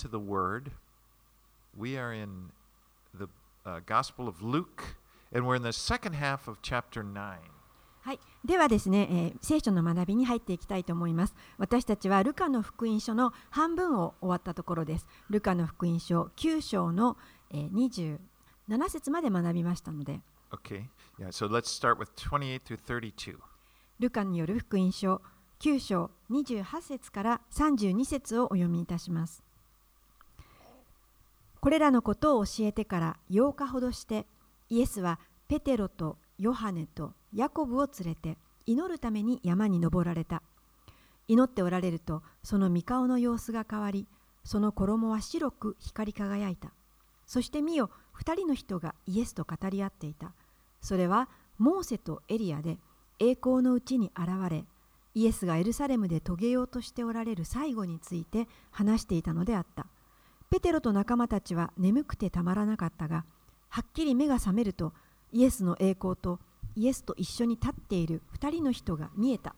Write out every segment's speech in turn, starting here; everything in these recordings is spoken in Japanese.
into the Word. We are in the Gospel of Luke, and we're in the second half of chapter 9. はい、ではですね、聖書の学びに入っていきたいと思います。私たちはルカの福音書の半分を終わったところです。ルカの福音書9章の27節まで学びましたので。 Okay, yeah, so let's start with 28 through 32. ルカによる福音書9章28節から32節をお読みいたします。これらのことを教えてから8日ほどして、イエスはペテロとヨハネとヤコブを連れて祈るために山に登られた。祈っておられると、その御顔の様子が変わり、その衣は白く光り輝いた。そして見よ、2人の人がイエスと語り合っていた。それはモーセとエリアで、栄光のうちに現れ、イエスがエルサレムで遂げようとしておられる最後について話していたのであった。ペテロと仲間たちは眠くてたまらなかったが、はっきり目が覚めると、イエスの栄光とイエスと一緒に立っている2人の人が見えた。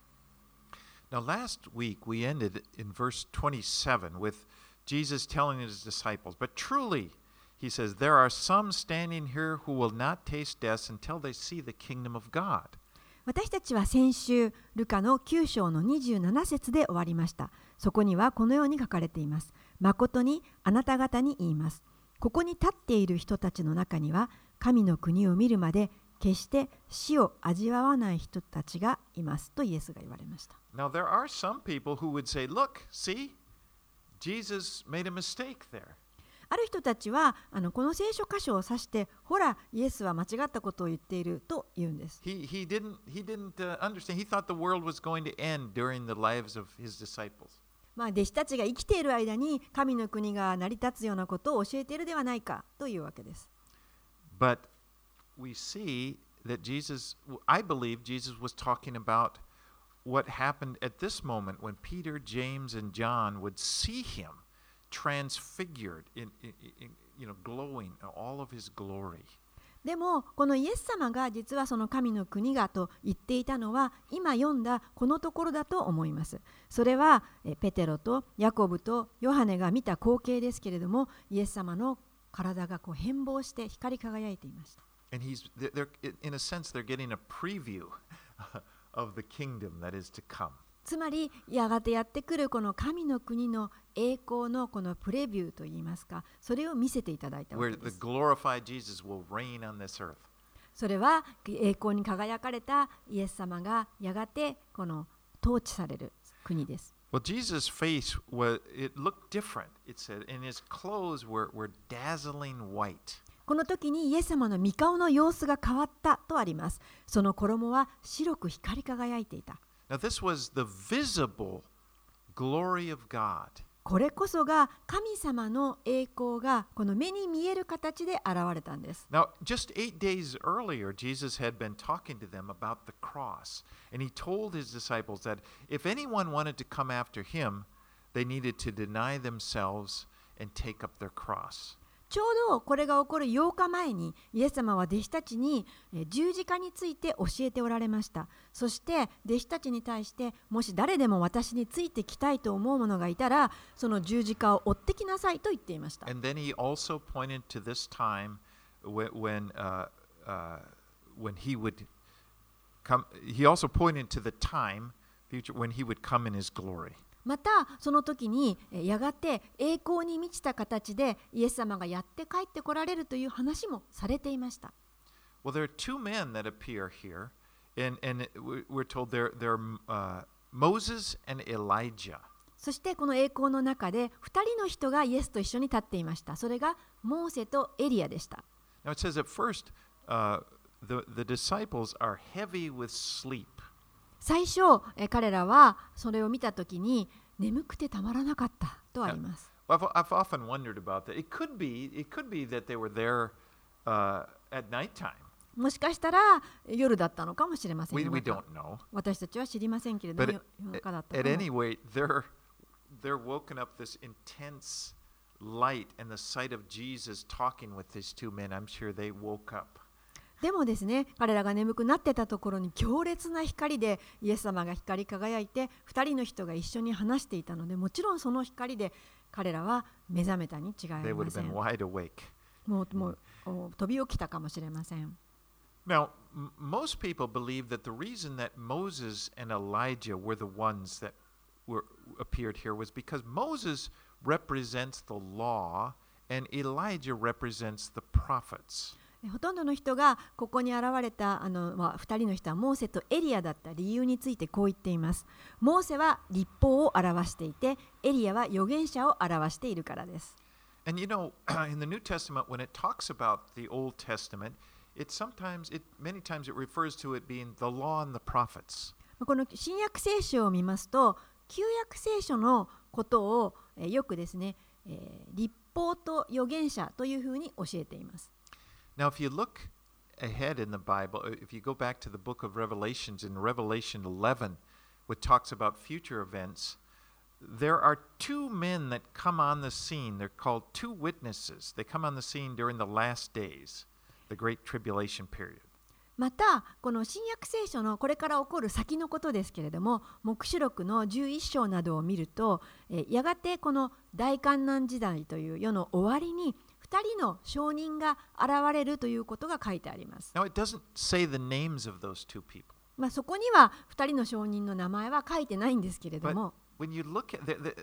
Now, last week we ended in verse 27 with Jesus telling his disciples, But truly, he says, there are some standing here who will not taste death until they see the kingdom of God. 私たちは先週、ルカの9章の27節で終わりました。そこにはこのように書かれています。誠にあなた方に言います。ここに立っている人たちの中には、神の国を見るまで決して死を味わわない人たちがいますとイエスが言われました。 Now, there are some people who would say, Look, see, Jesus made a mistake there. ある人たちはこの聖書箇所を指して、ほら、イエスは間違ったことを言っていると言うんです。 He didn't understand. He thought the world was going to end during the lives of his disciples. 弟子たちが生きている間に神の国が成り立つようなことを教えているではないかというわけです。 But we see that I believe Jesus was talking about what happened at this moment when Peter, James, and John would see him transfigured glowing in all of his glory. でもこのイエス様が実はその神の国がと言っていたのは今読んだこのところだと思います。それはペテロとヤコブとヨハネが見た光景ですけれども、イエス様の体が変貌して光り輝いていました。 And in a sense, they're getting a preview of the kingdom that is to come. つまりやがてやってくるこの神の国の栄光のこのプレビューといいますか、それを見せていただいたわけです。それは栄光に輝かれたイエス様がやがてこの統治される国です。 Well, Jesus' face it looked different. It said, and his clothes were dazzling white. この時にイエス様の御顔の様子が変わったとあります。その衣は白く光り輝いていた。 Now, this was the visible glory of God. これこそが神様の栄光がこの目に見える形で現れたんです。 Now, just 8 days earlier, Jesus had been talking to them about the cross, and he told his disciples that if anyone wanted to come after him, they needed to deny themselves and take up their cross. ちょうどこれが起こる8日前にイエス様は弟子たちに十字架について教えておられました。そして弟子たちに対して、もし誰でも私についてきたいと思う者がいたら、その十字架を追ってきなさいと言っていました。 And then he also pointed to this time when he would come. He also pointed to the time future when he would come in his glory. またその時にやがて栄光に満ちた形でイエス様がやって帰ってこられるという話もされていました。 Well, there are two men that appear here, and we're told they're Moses and Elijah. そしてこの栄光の中で2人の人がイエスと一緒に立っていました。それがモーセとエリアでした。 Now it says at first, the disciples are heavy with sleep. 最初、彼らはそれを見たときに眠くてたまらなかったとあります。 I've often wondered about that. It could be that they were there at nighttime. もしかしたら夜だったのかもしれません。 We don't know. 私たちは知りませんけれども、夜中だったかも。 At any rate, they're woken up this intense light and the sight of Jesus talking with these two men. I'm sure they woke up. でもですね、彼らが眠くなってたところに強烈な光でイエス様が光り輝いて、2人の人が一緒に話していたので、もちろんその光で彼らは目覚めたに違いあ They り would ま have せ been ん。 wide awake. もう飛び起きたかもしれません。 Now, most people believe that the reason that Moses and Elijah were the ones that appeared here was because Moses represents the law and Elijah represents the prophets. ほとんどの人がここに現れた2人の人はモーセとエリアだった理由についてこう言っています。モーセは立法を表していて、エリアは預言者を表しているからです。 And you know, in the New Testament, when it talks about the Old Testament, many times it refers to it being the law and the prophets. この新約聖書を見ますと、旧約聖書のことをよくですね、立法と預言者というふうに教えています。 Now, if you look ahead in the Bible, if you go back to the book of Revelations, in Revelation 11, which talks about future events, there are two men that come on the scene. They're called two witnesses. They come on the scene during the last days, the Great Tribulation period. また、この新約聖書のこれから起こる先のことですけれども、黙示録の11章などを見ると、やがてこの大観難時代という世の終わりに、2人の証人が現れるということが書いてあります。 Now, it doesn't say the names of those two people. そこには2人の証人の名前は書いてないんですけれども、 When you look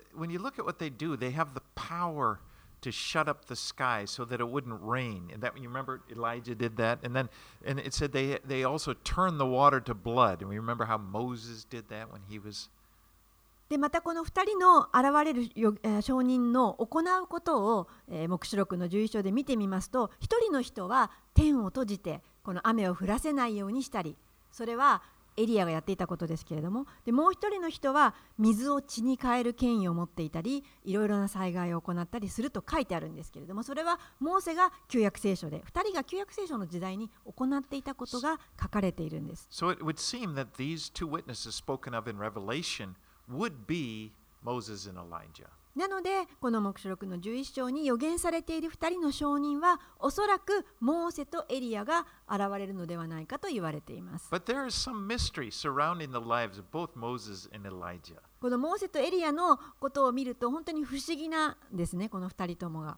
at what they do, they have the power to shut up the sky so that it wouldn't rain. And that, you remember Elijah did that, and it said they also turned the water to blood. And we remember how Moses did that when he was. でまたこの2人の現れる証人の行うことを、黙示録の11章で見てみますと、1人の人は天を閉じてこの雨を降らせないようにしたり、それはエリアがやっていたことですけれども、でもう一人の人は水を血に変える権威を持っていたり、いろいろな災害を行ったりすると書いてあるんですけれども、それはモーセが旧約聖書で、2人が旧約聖書の時代に行っていたことが書かれているんです。 So it would seem that these two witnesses spoken of in Revelation would be Moses and Elijah. なのでこの黙示録の11章に予言されている2人の証人はおそらくモーセとエリアが現れるのではないかと言われています。 But there is some mystery surrounding the lives of both Moses and Elijah. このモーセとエリアのことを見ると本当に不思議なんですね、この2人ともが。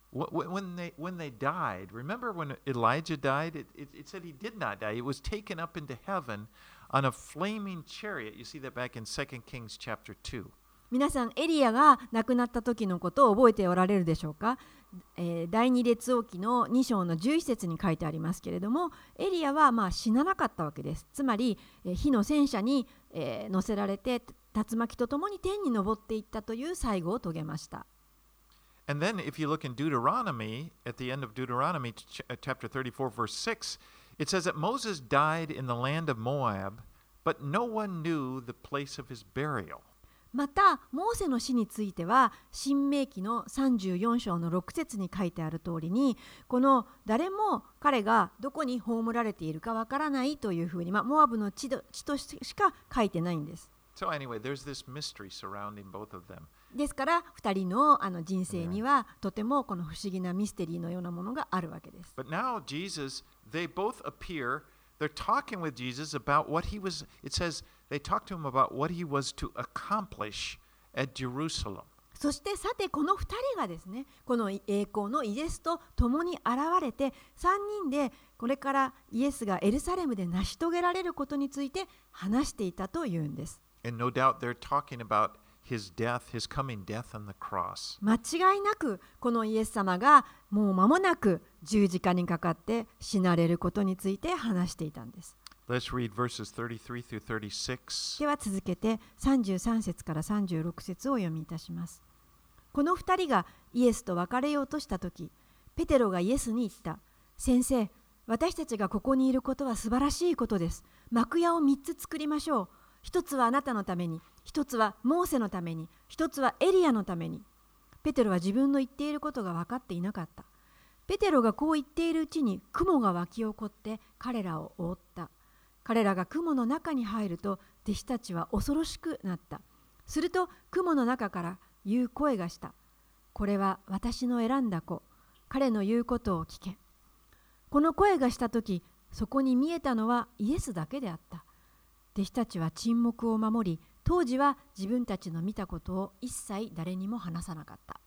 When they died, remember when Elijah died? It said he did not die. It was taken up into heaven on a flaming chariot. You see that back in 2 Kings chapter 2. 皆さんエリアが亡くなった時のことを覚えておられるでしょうか。第二列王記の2章の11節に書いてありますけれども、エリアは死ななかったわけです。つまり火の戦車に乗せられて竜巻とともに天に昇っていったという最後を遂げました。 And then if you look in Deuteronomy, at the end of Deuteronomy chapter 34 verse 6, it says that Moses died in the land of Moab, but no one knew the place of his burial. またモーセの死については申命記の34章の6節に書いてある通りに、この誰も彼がどこに葬られているかわからないというふうに、モアブの地としか書いてないんです。 So anyway, there's this mystery surrounding both of them. ですから2人の人生にはとてもこの不思議なミステリーのようなものがあるわけです。 But now Jesus, they both appear, they're talking with Jesus about what he was, it says, they talked to him about what he was to accomplish at Jerusalem. そしてさてこの2人がですね、この栄光のイエスと共に現れて3人でこれからイエスがエルサレムで成し遂げられることについて話していたというんです。 And no doubt they're talking about his death, his coming death on the cross. 間違いなくこのイエス様がもう間もなく十字架にかかって死なれることについて話していたんです。 Let's read verses 33 through 36. では続けて33節から36節を読みいたします。この2人がイエスと別れようとしたとき、ペテロがイエスに言った。先生、私たちがここにいることは素晴らしいことです。幕屋を3つ作りましょう。1つはあなたのために、1つはモーセのために、1つはエリアのために。ペテロは自分の言っていることが分かっていなかった。ペテロがこう言っているうちに雲が湧き起こって彼らを覆った。彼らが雲の中に入ると弟子たちは恐ろしくなった。すると雲の中から言う声がした。これは私の選んだ子。彼の言うことを聞け。この声がしたとき、そこに見えたのはイエスだけであった。弟子たちは沈黙を守り、当時は自分たちの見たことを一切誰にも話さなかった。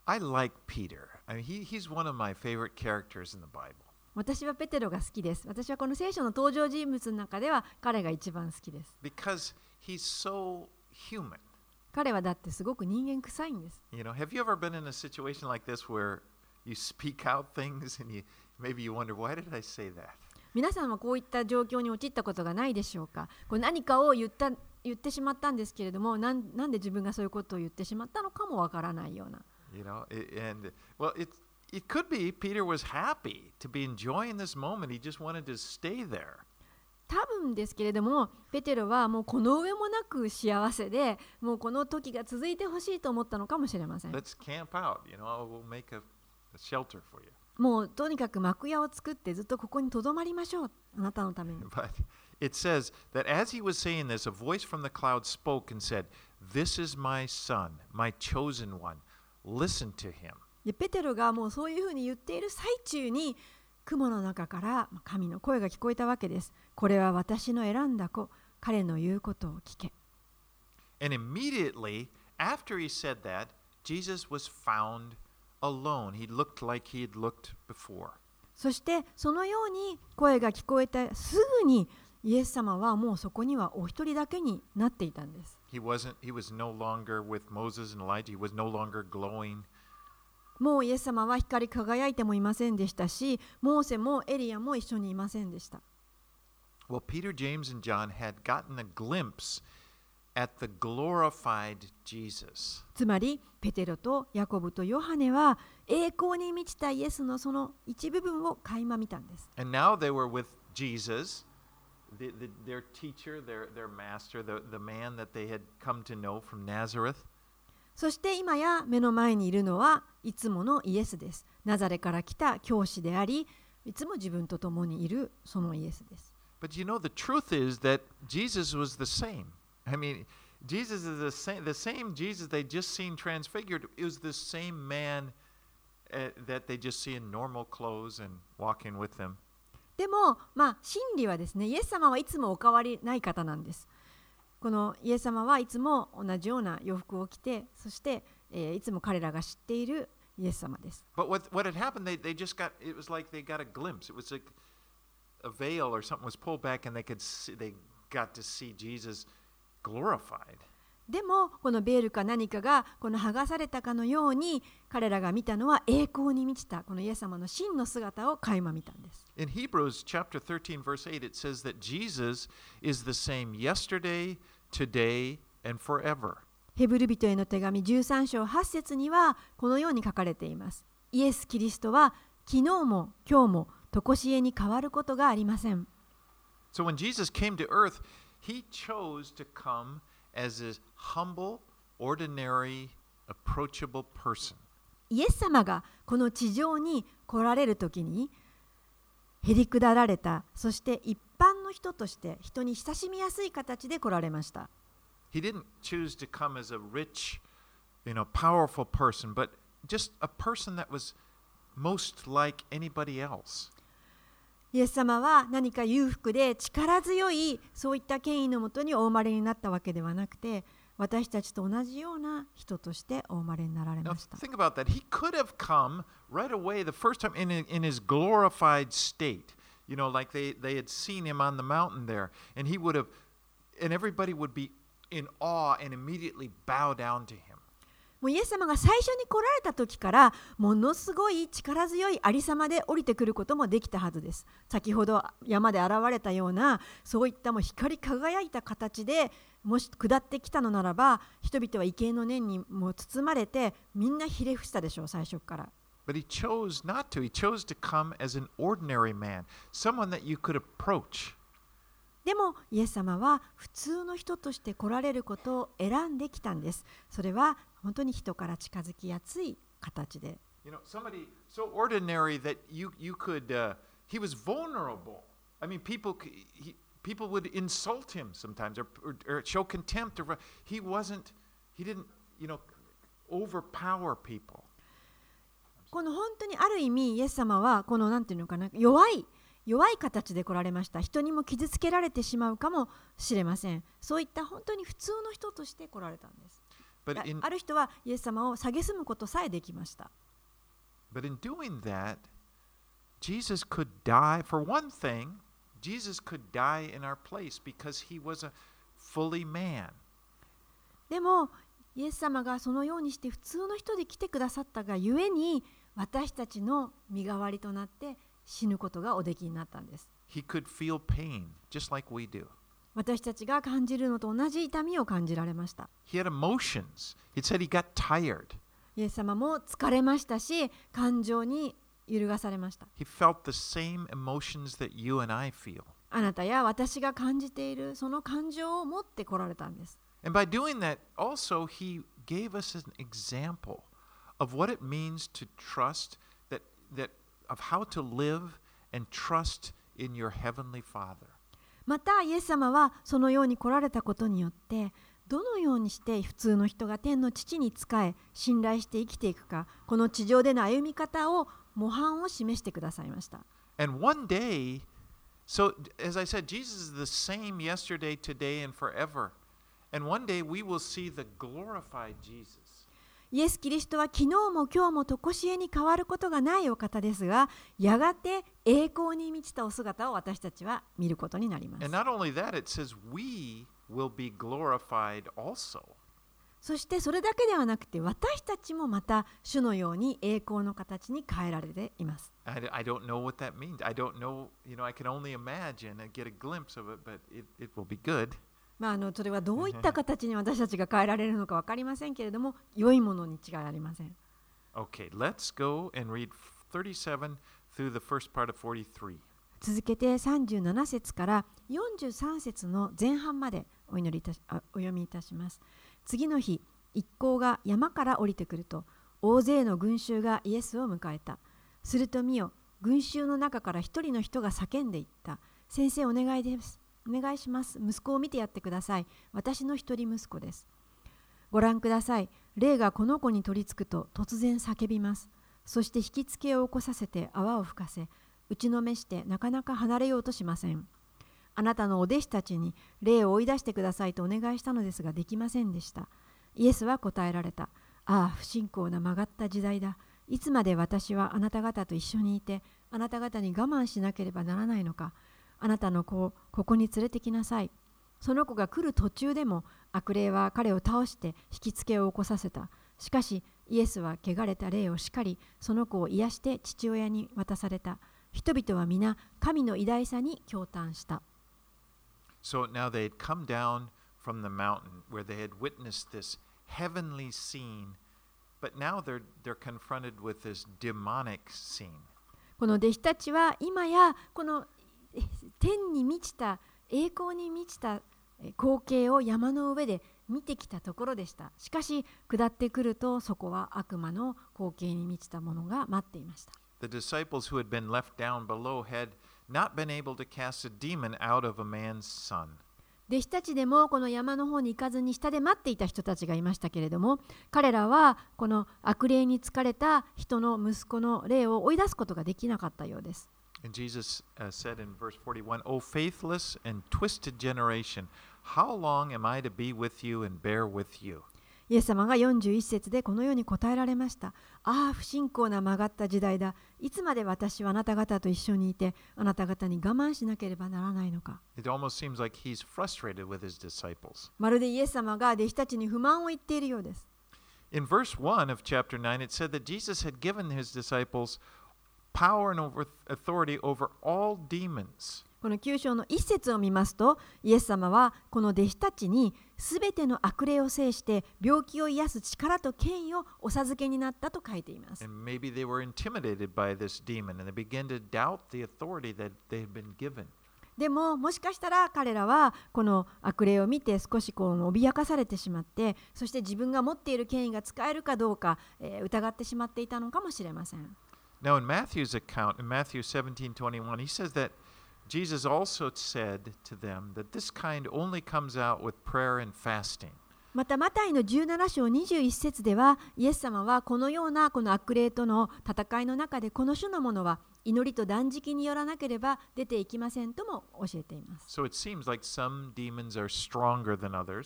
I like Peter. I mean, he's one of my favorite characters in the Bible. 私はペテロが好きです。私はこの聖書の登場人物の中では彼が一番好きです。 Because he's so human. 彼はだってすごく人間臭いんです。 You know, have you ever been in a situation like this where you speak out things and maybe you wonder, why did I say that? 皆さんはこういった状況に陥ったことがないでしょうか。こう何かを言ってしまったんですけれども、なんで自分がそういうことを言ってしまったのかもわからないような。 You know, and well, it could be Peter was happy to be enjoying this moment. He just wanted to stay there. 多分ですけれども、ペテロはもうこの上もなく幸せで、もうこの時が続いてほしいと思ったのかもしれません。 Let's camp out. You know, we'll make a shelter for you. もうとにかく幕屋を作ってずっとここに留まりましょう。あなたのために。 But it says that as he was saying this, a voice from the cloud spoke and said, "This is my son, my chosen one. Listen to him." でペテロがもうそういうふうに言っている最中に雲の中から神の声が聞こえたわけです。これは私の選んだ子、彼の言うことを聞け。 And immediately after he said that, Jesus was found alone. He looked like he had looked before. そしてそのように声が聞こえたすぐにイエス様はもうそこにはお一人だけになっていたんです。 He was no longer with Moses and Elijah. He was no longer glowing. もうイエス様は光り輝いてもいませんでしたし、モーセもエリアも一緒にいませんでした。 Well, Peter, James, and John had gotten a glimpse at the glorified Jesus. つまりペテロとヤコブとヨハネは栄光に満ちたイエスのその一部分を垣間見たんです。 And now they were with Jesus, their teacher, their master, the man that they had come to know from Nazareth. そして今や目の前にいるのはいつものイエスです。ナザレから来た教師であり、いつも自分と共にいるそのイエスです。 But you know, the truth is that Jesus was the same. I mean, Jesus is the same Jesus they just seen transfigured. It was the same man that they just see in normal clothes and walking with them. でも、真理はですね、イエス様はいつもお変わりない方なんです。このイエス様はいつも同じような洋服を着て、そして、いつも彼らが知っているイエス様です。 But what had happened, they just got, it was like they got a glimpse. It was like a veil or something was pulled back and they got to see Jesus glorified. でもこのベールか何かがこの剥がされたかのように彼らが見たのは栄光に満ちたこのイエス様の真の姿を垣間見たんです。 In Hebrews chapter 13 verse 8 it says that Jesus is the same yesterday, today, and forever. ヘブル人への手紙13章8節にはこのように書かれています。イエス・キリストは昨日も今日も常しえに変わることがありません。 So when Jesus came to earth, he chose to come as a humble, ordinary, approachable person. イエス様がこの地上に来られるときにへりくだられた、そして一般の人として人に親しみやすい形で来られました。 He didn't choose to come as a rich, powerful person, but just a person that was most like anybody else. イエス様は何か裕福で力強いそういった権威のもとにお生まれになったわけではなくて、私たちと同じような人としてお生まれになられ Now ました。 think about that. He could have come right away the first time in his glorified state. Like they had seen him on the mountain there, and and everybody would be in awe and immediately bow down to him. もうイエス様が最初に来られた時からものすごい力強いありさまで降りてくることもできたはずです。先ほど山で現れたようなそういったもう光り輝いた形でもし下ってきたのならば、人々は畏敬の念にもう包まれてみんなひれ伏したでしょう、最初から。 But he chose not to. He chose to come as an ordinary man, someone that you could approach. でもイエス様は普通の人として来られることを選んできたんです。それは本当に人から近づきやすい形で。 Somebody so ordinary that you could, he was vulnerable. I mean, people would insult him sometimes or show contempt. He didn't, overpower people. この本当にある意味イエス様はこのなんていうのかな、弱い形で来られました。人にも傷つけられてしまうかもしれません。そういった本当に普通の人として来られたんです。 ある人はイエス様を蔑むことさえできました。 But in doing that, Jesus could die. For one thing, Jesus could die in our place because he was a fully man. でもイエス様がそのようにして普通の人で来てくださったがゆえに、私たちの身代わりとなって死ぬことがおできになったんです。 He could feel pain just like we do. 私たちが感じるのと同じ痛みを感じられました。 He had emotions. It said he got tired. イエス様も疲れましたし、感情に揺るがされました。 He felt the same emotions that you and I feel. あなたや私が感じているその感情を持ってこられたんです。 And by doing that, also, he gave us an example of what it means to trust, of how to live and trust in your heavenly Father. またイエス様はそのように来られたことによって、どのようにして普通の人が天の父に仕え信頼して生きていくか、この地上での歩み方を模範を示してくださいました。 And one day, so as I said, Jesus is the same yesterday, today, and forever. And one day we will see the glorified Jesus. イエス・キリストは昨日も今日も常しえに変わることがないお方ですが、やがて栄光に満ちたお姿を私たちは見ることになります。 And not only that, it says we will be glorified also. そしてそれだけではなくて、私たちもまた主のように栄光の形に変えられています。 I don't know what that means. I don't know, I can only imagine and get a glimpse of it, but it will be good. それはどういった形に私たちが変えられるのか分かりませんけれども、良いものに違いありません。 Okay, let's go and read 37 through the first part of 43. 続けて37節から43節の前半までお読みいたします。次の日、一行が山から降りてくると、大勢の群衆がイエスを迎えた。すると見よ、群衆の中から一人の人が叫んでいった。先生、お願いです。お願いします。息子を見てやってください。私の一人息子です。ご覧ください。霊がこの子に取り付くと突然叫びます。そして引きつけを起こさせて泡を吹かせ、打ちのめしてなかなか離れようとしません。あなたのお弟子たちに霊を追い出してくださいとお願いしたのですができませんでした。イエスは答えられた。ああ、不信仰な曲がった時代だ。いつまで私はあなた方と一緒にいて、あなた方に我慢しなければならないのか。あなたの子をここに連れてきなさい。その子が来る途中でも悪霊は彼を倒して引きつけを起こさせた。しかしイエスは汚れた霊を叱り、その子を癒して父親に渡された。人々は皆神の偉大さに驚嘆した。 So now they had come down from the mountain where they had witnessed this heavenly scene, but now they're confronted with this demonic scene. この弟子たちは今やこの天に満ちた栄光に満ちた光景を山の上で見てきたところでした。しかし下ってくるとそこは悪魔の光景に満ちたものが待っていました。 The disciples who had been left down below had not been able to cast a demon out of a man's son. 弟子たちでもこの山の方に行かずに下で待っていた人たちがいましたけれども、彼らはこの悪霊に疲れた人の息子の霊を追い出すことができなかったようです。 And Jesus said in verse 41, O faithless and twisted generation, how long am I to be with you and bear with you? イエス様が41節でこのように答えられました。ああ、不信仰な曲がった時代だ。いつまで私はあなた方と一緒にいて、あなた方に我慢しなければならないのか。 It almost seems like he's frustrated with his disciples. まるでイエス様が弟子たちに不満を言っているようです。 In verse 1 of chapter 9, it said that Jesus had given his disciples power and authority over all demons. この9章の1節を見ますと、イエス様はこの弟子たちにすべての悪霊を制して病気を癒す力と権威をお授けになったと書いています。 And maybe they were intimidated by this demon and they began to doubt the authority that they had been given. でももしかしたら彼らはこの悪霊を見て少し脅かされてしまって、そして自分が持っている権威が使えるかどうか、疑ってしまっていたのかもしれません。 Now in Matthew's account, in Matthew 17:21, he says that Jesus also said to them that this kind only comes out with prayer and fasting. またマタイの17章21節では、イエス様はこのようなこの悪霊との戦いの中で、この種のものは祈りと断食によらなければ出ていきませんとも教えています。 So it seems like some demons are stronger than others.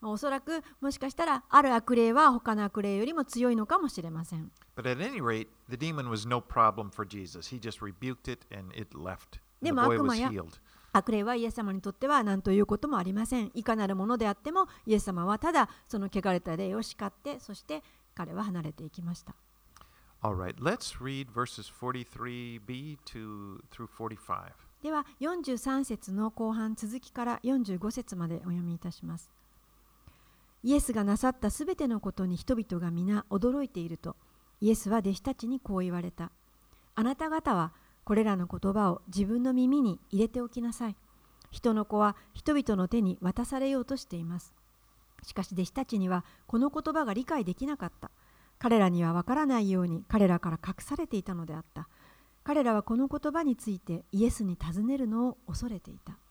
おそらくもしかしたらある悪霊は他の悪霊よりも強いのかもしれません。 But at any rate, the demon was no problem for Jesus. He just rebuked it and it left. で The も boy 悪魔 was や healed. 悪霊はイエス様にとっては何ということもありません。いかなるものであってもイエス様はただその汚れた霊を叱って、そして彼は離れていきました。 All right, let's read verses 43b through 45. では43節の後半続きから45節までお読みいたします。イエスがなさったすべてのことに人々が皆驚いていると、イエスは弟子たちにこう言われた。あなた方はこれらの言葉を自分の耳に入れておきなさい。人の子は人々の手に渡されようとしています。しかし弟子たちにはこの言葉が理解できなかった。彼らにはわからないように彼らから隠されていたのであった。彼らはこの言葉についてイエスに尋ねるのを恐れていた。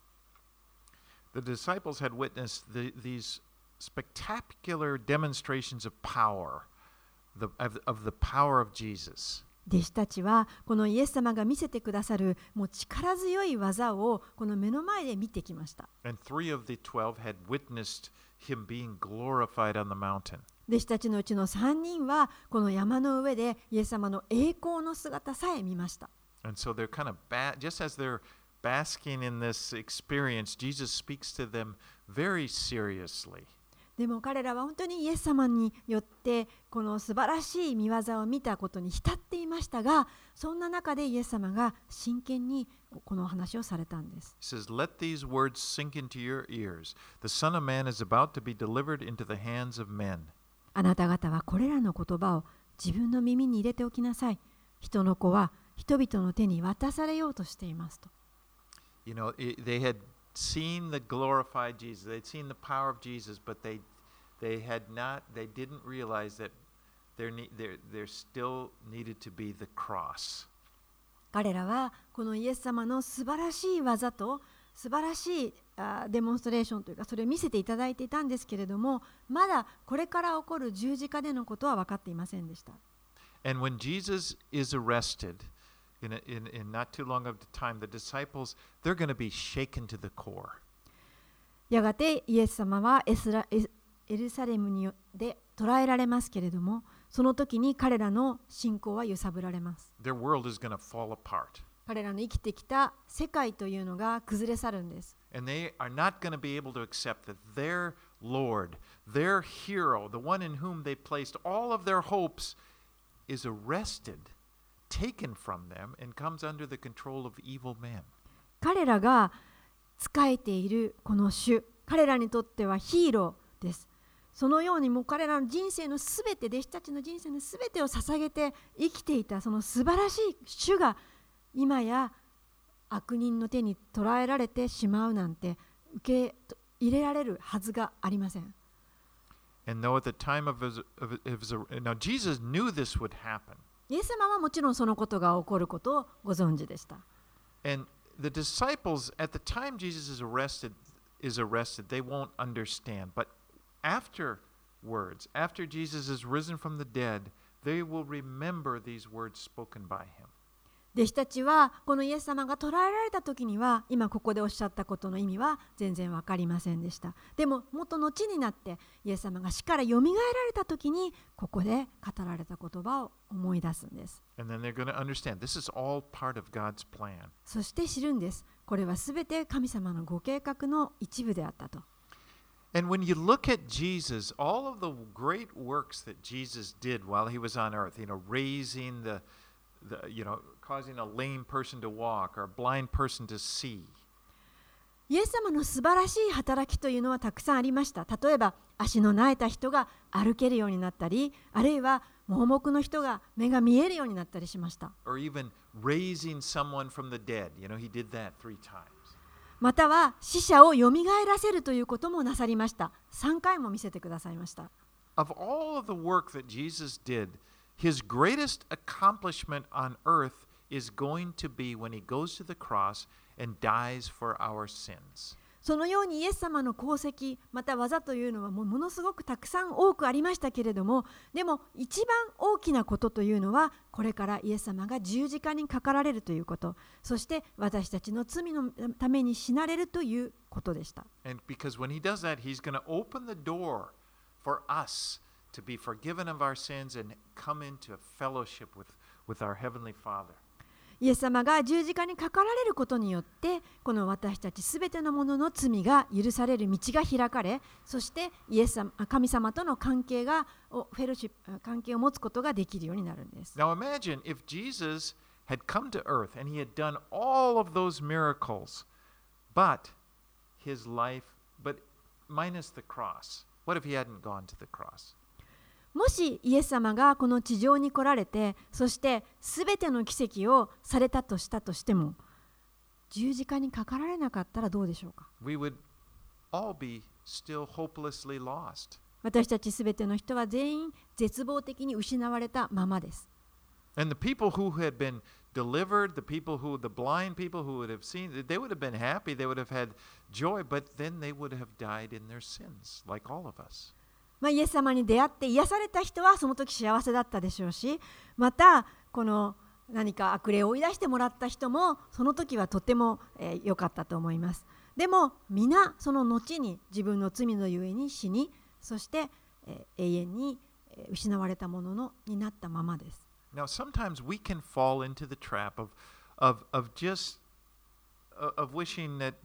The disciples had witnessed these spectacular demonstrations of power, of the power of Jesus. 弟子たちはこのイエス様が見せてくださるもう力強い技をこの目の前で見てきました。 And 3 of the 12 had witnessed him being glorified on the mountain. 弟子たちのうちの3人はこの山の上でイエス様の栄光の姿さえ見ました。 And so they're kind of just as they're basking in this experience, Jesus speaks to them very seriously. でも彼らは本当にイエス様によってこの素晴らしい見業を見たことに浸っていましたが、そんな中でイエス様が真剣にこの話をされたんです。 He says, Let these words sink into your ears. The Son of Man is about to be delivered into the hands of men. あなた方はこれらの言葉を自分の耳に入れておきなさい。人の子は人々の手に渡されようとしていますと。 You know, they had seen the glorified Jesus. They'd seen the power of Jesus, but they didn't realize that there still needed to be the cross. 彼らはこのイエス様の素晴らしい技と素晴らしいデモンストレーションというかそれを見せていただいていたんですけれども、まだこれから起こる十字架でのことは分かっていませんでした。 And when Jesus is arrested, in not too long of the time, the disciples, they're going to be shaken to the core. やがてイエス様はエルサレムによって捕らえられますけれども、その時に彼らの信仰は揺さぶられます。 Their world is going to fall apart. 彼らの生きてきた世界というのが崩れ去るんです。 And they are not going to be able to accept that their Lord, their hero, the one in whom they placed all of their hopes, is arrested, taken from them, and comes under the control of evil men. 彼らが仕えているこの主、彼らにとってはヒーローです。そのようにもう彼らの人生のすべて、弟子たちの人生のすべてを捧げて生きていたその素晴らしい主が今や悪人の手に捕らえられてしまうなんて受け入れられるはずがありません。 And though at the time of now Jesus knew this would happen. イエス様はもちろんそのことが起こることをご存知でした。 And the disciples, at the time Jesus is arrested, they won't understand. But afterwards, after Jesus is risen from the dead, they will remember these words spoken by him. 弟子たちはこのイエス様が捕らえられた時には今ここでおっしゃったことの意味は全然分かりませんでした。でももっと後になってイエス様が死からよみがえられた時にここで語られた言葉を思い出すんです。 And then they're going to understand this is all part of God's plan. そして知るんです。これはすべて神様のご計画の一部であったと。 And when you look at Jesus, all of the great works that Jesus did while he was on earth, raising causing a lame person to walk or a blind person to see. イエス様の素晴らしい働きというのはたくさんありました。例えば足の苗えた人が歩けるようになったり、あるいは盲目の人が目が見えるようになったりしました。 Or even raising someone from the dead. He did that 3 times. または死者をよみがえらせるということもなさりました。3回も見せてくださいました。 Of all of the work that Jesus did, his greatest accomplishment on earth is going to be when he goes to the cross and dies for our sins. そのようにイエス様の功績また技というのはものすごくたくさん多くありましたけれども、でも一番大きなことというのはこれからイエス様が十字架にかかられるということ、そして私たちの罪のために死なれるということでした。 And because when he does that, he's going to open the door for us to be forgiven of our sins and come into a fellowship with our Heavenly Father. イエス様が十字架にかかられることによってこの私たちすべてのものの罪が許される道が開かれ、そして神様との関係関係を持つことができるようになるんです。 Now imagine if Jesus had come to earth and he had done all of those miracles, but minus the cross. What if he hadn't gone to the cross? もしイエス様がこの地上に来られて、そしてすべての奇跡をされたとしたとしても、十字架にかかられなかったらどうでしょうか。 We would all be still hopelessly lost. 私たちすべての人は全員絶望的に失われたままです。 And the people who had been delivered, the blind people who would have seen, they would have been happy, they would have had joy, but then they would have died in their sins, like all of us. イエス様に出会って癒された人はその時幸せだったでしょうし、またこの何か悪霊を追い出してもらった人もその時はとても良かったと思います。でも皆その後に自分の罪のゆえに死に、そして永遠に失われたものになったままです。 Now sometimes we can fall into the trap of wishing that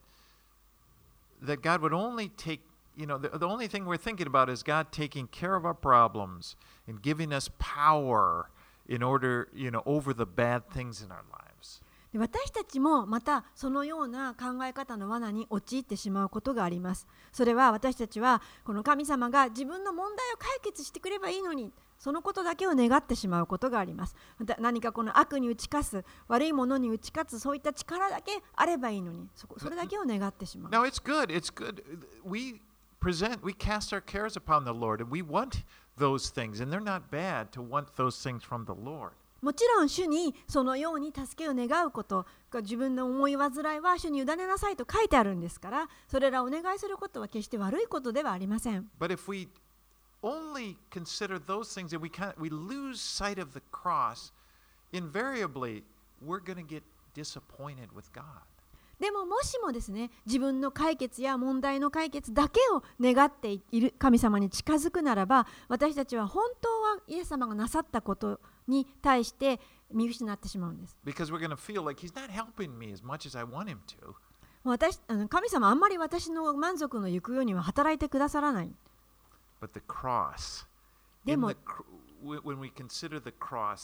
God would only take.The only thing we're thinking about is God taking care of our problems and giving us power in order, over the bad things in our lives. 私たちもまたそのような考え方の罠に陥ってしまうことがあります。それは私たちはこの神様が自分の問題を解決してくればいいのに、そのことだけを願ってしまうことがあります。また何かこの悪に打ち勝つ、悪いものに打ち勝つ、そういった力だけあればいいのに、それだけを願ってしまう。 Now it's good. We cast our cares upon the Lord, and we want those things, and they're not bad to want those things from the Lord. もちろん主にそのように助けを願うこと、自分の思い煩いは主に委ねなさいと書いてあるんですから、それらをお願いすることは決して悪いことではありません。 But if we only consider those things and we lose sight of the cross, invariably we're going to get disappointed with God. でももしもですね、自分の解決や問題の解決だけを願っている神様に近づくならば、私たちは本当はイエス様がなさったことに対して見失ってしまうんです。 Because we're going to feel like he's not helping me as much as I want him to. 神様あんまり私の満足の行くようには働いてくださらない。 But the cross, でも when we consider the cross,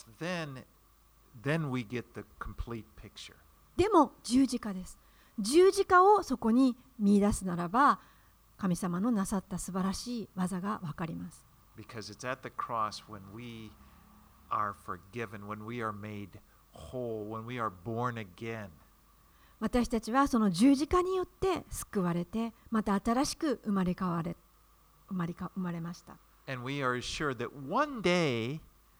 then we get the complete picture. でも十字架です。十字架をそこに見出すならば、神様のなさった素晴らしい技がわかります。 Because it's at the cross when we are forgiven, when we are made whole, when we are born again. 私たちはその十字架によって救われて、また新しく生まれました。 And we are assured that one day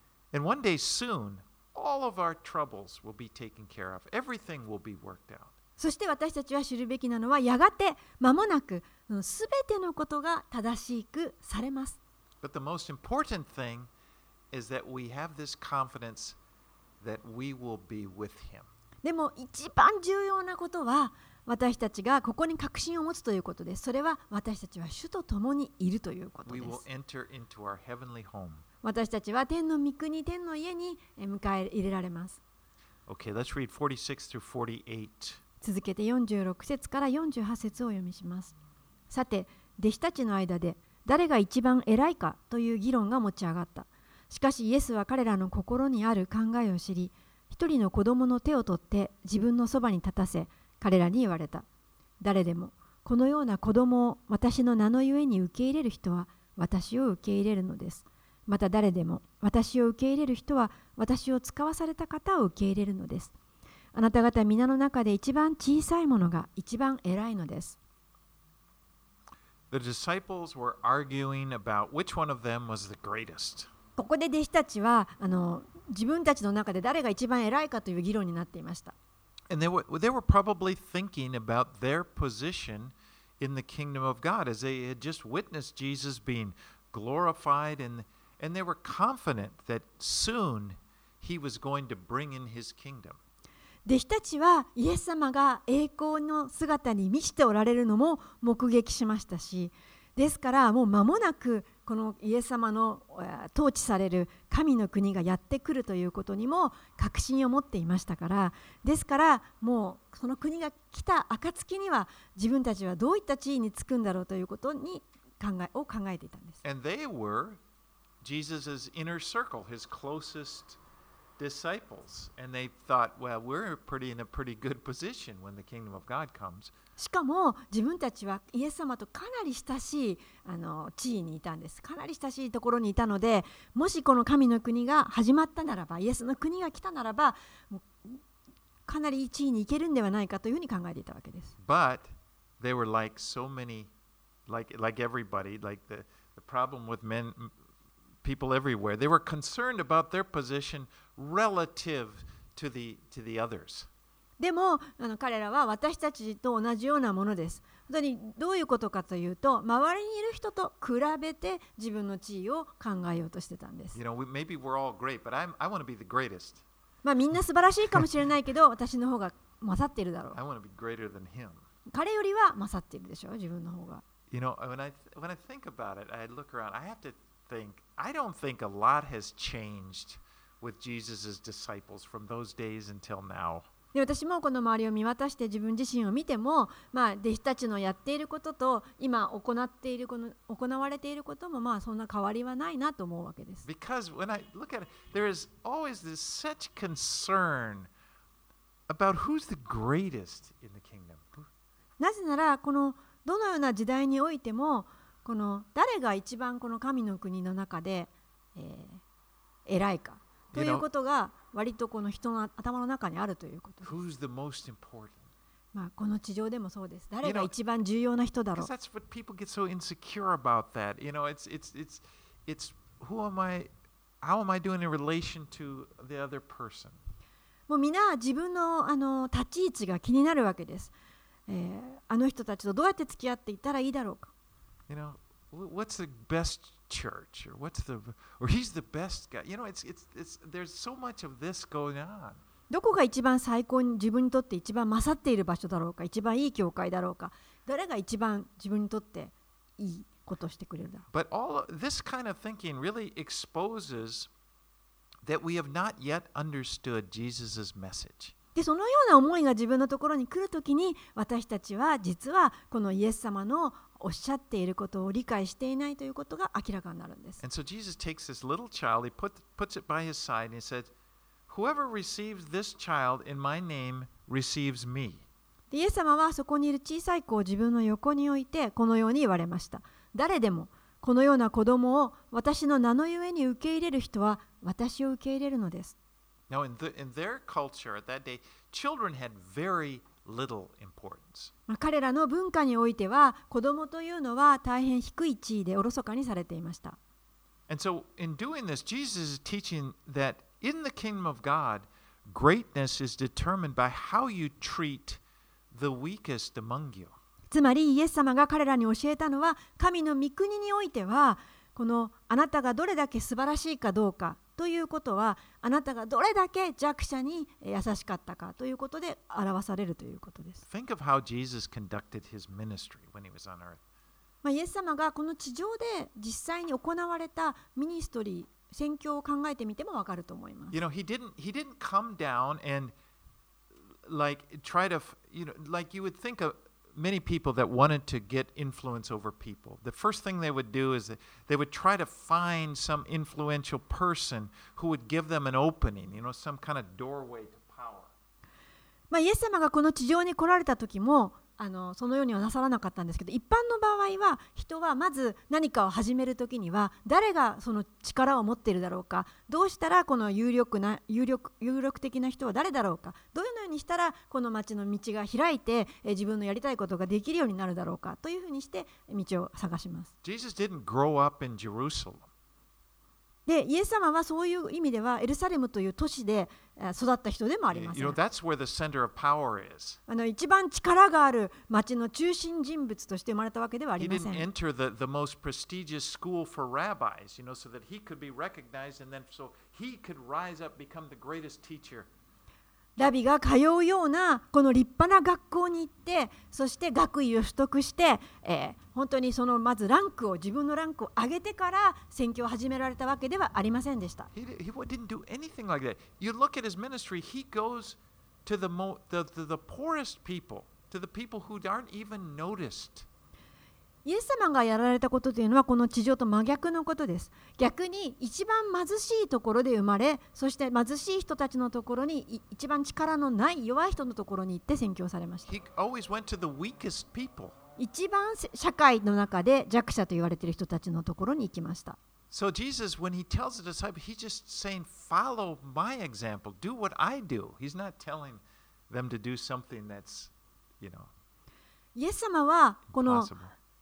soon, all of our troubles will be taken care of. Everything will be worked out. そして私たちは知るべきなのは、やがて間もなくすべてのことが正しくされます。 But the most important thing is that we have this confidence that we will be with him. でも一番重要なことは、私たちがここに確信を持つということです。それは私たちは主と共にいるということで We will す。 enter into our heavenly home. 私たちは天の御国、天の家に迎え入れられます。 Okay, let's read 46 through 48. 続けて46節から48節をお読みします。さて、弟子たちの間で誰が一番偉いかという議論が持ち上がった。しかしイエスは彼らの心にある考えを知り、一人の子供の手を取って自分のそばに立たせ、彼らに言われた。誰でもこのような子供を私の名のゆえに受け入れる人は私を受け入れるのです。また誰でも私を受け入れる人は私を使わされた方を受け入れるのです。あなた方皆の中で一番小さいものが一番偉いのです。 The disciples were arguing about which one of them was the greatest. ここで弟子たちは自分たちの中で誰が一番偉いかという議論になっていました。 And they were probably thinking about their position in the kingdom of God as they had just witnessed Jesus being glorified, and they were confident that soon he was going to bring in his kingdom. 弟子たちはイエス様が栄光の姿に満ちておられるのも目撃しましたし、ですからもう間もなくこのイエス様の統治される神の国がやってくるということにも確信を持っていましたから、ですからもうその国が来た暁には自分たちはどういった地位につくんだろうということに考えていたんです。 And they were Jesus' inner circle, his closest disciples, and they thought, well, we're in a pretty good position when the kingdom of God comes. しかも自分たちはイエス様とかなり親しい地位にいたんです。かなり親しいところにいたので、もしこの神の国が始まったならば、イエスの国が来たならば、かなりいい地位に行けるんではないかというふうに考えていたわけです。 But they were like so many, like everybody, like the problem with people everywhere. They were concerned about their position relative to the others. でも彼らは私たちと同じようなものです。本当にどういうことかというと、周りにいる人と比べて自分の地位を考えようとしてたんです。 Maybe we're all great, but I want to be the greatest. みんな素晴らしいかもしれないけど、私の方が勝っているだろう。 I want to be greater than him. 彼よりは勝っているでしょう、自分の方が。 When I think about it, I look around. I have to think. I don't think a lot has changed with Jesus' disciples from those days until now. で、私もこの周りを見渡して自分自身を見ても、弟子たちのやっていることと今行われていることもそんな変わりはないなと思うわけです。 Because when I look at it, there is always this such concern about who's the greatest in the kingdom. なぜなら、このどのような時代においても、この誰が一番この神の国の中で、偉いかということが割とこの人の頭の中にあるということです。 Who's the most important? この地上でもそうです。誰が一番重要な人だろう。 That's what people get so insecure about that. It's who am I? How am I doing in relation to the other person? もうみんな自分の立ち位置が気になるわけです。あの人たちとどうやって付き合っていったらいいだろうか。 What's the best church, or he's the best guy. There's so much of this going on. どこが一番最高に自分にとって一番勝っている場所だろうか、一番いい教会だろうか、誰が一番自分にとっていいことをしてくれるだろう。 But all this kind of thinking really exposes that we have not yet understood Jesus' message. で、そのような思いが自分のところに来るときに、私たちは実はこのイエス様のおっしゃっていることを理解していないということが明らかになるんです。 And so Jesus takes this little child, he puts it by his side, and he said, "Whoever receives this child in my name receives me." で、イエス様はそこにいる小さい子を自分の横に置いてこのように言われました。誰でもこのような子供を私の名のゆえに受け入れる人は私を受け入れるのです。 Now, in their culture at that day, children had very little importance. 彼らの文化においては子供というのは大変低い地位でおろそかにされていました。 And so, in doing this, Jesus is teaching that in the kingdom of God, greatness is determined by how you treat the weakest among you. つまりイエス様が彼らに教えたのは、神の御国においてはこのあなたがどれだけ素晴らしいかどうかということは、あなたがどれだけ弱者に優しかったかということで表されるということです。 Think of how Jesus conducted his ministry when he was on earth. イエス様がこの地上で実際に行われたミニストリー、宣教を考えてみてもわかると思います。 He didn't come down and try to, like you would think of many people that wanted to get influence over people. The first thing they would do is they would try to find some influential person who would give them an opening, some kind of doorway to power. イエス様がこの地上に来られた時もそのようにはなさらなかったんですけど、一般の場合は人はまず何かを始める時には誰がその力を持っているだろうか、どうしたらこの有力的な人は誰だろうか、どのようにしたらこの町の道が開いて自分のやりたいことができるようになるだろうかというふうにして道を探します。 Jesus didn't grow up in Jerusalem. で、イエス様はそういう意味ではエルサレムという都市で育った人でもありませ You ん。 know, that's where the center of power is. 一番力がある町の中心人物として生まれたわけではあ He りませ didn't ん。 enter the most prestigious school for rabbis, so that he could be recognized and then so he could rise up, become the greatest teacher. ラビが通うようなこの立派な学校に行って、そして学位を取得して、本当にそのまず自分のランクを上げてから宣教を始められたわけではありませんでした。 He didn't do anything like that. You look at his ministry, he goes to the poorest people, to the people who aren't even noticed. イエス様がやられたことというのはこの地上と真逆のことです。逆に一番貧しいところで生まれ、そして貧しい人たちのところに一番力のない弱い人のところに行って宣教されました。 He always went to the weakest people. 一番社会の中で弱者と言われている人たちのところに行きました。 So Jesus, when he tells the disciples, he's just saying, follow my example, do what I do. He's not telling them to do something that's, イエス様はこの impossible.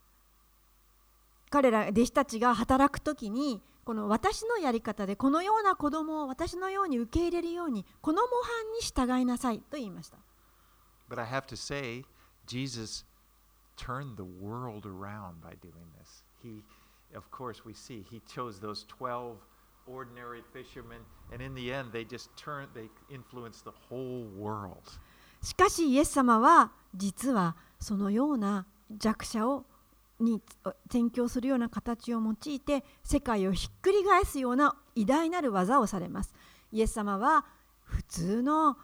彼ら弟子たちが働くときにこの私のやり方でこのような子供を私のように受け入れるようにこの模範に従いなさいと言いました。 But I have to say, Jesus turned the world around by doing this. Of course, we see he chose those 12 ordinary fishermen, and in the end, they influenced the whole world. しかしイエス様は実はそのような弱者に宣教するような形を用いて世界をひっくり返すような偉大なる技をされます。イエス様は普通の、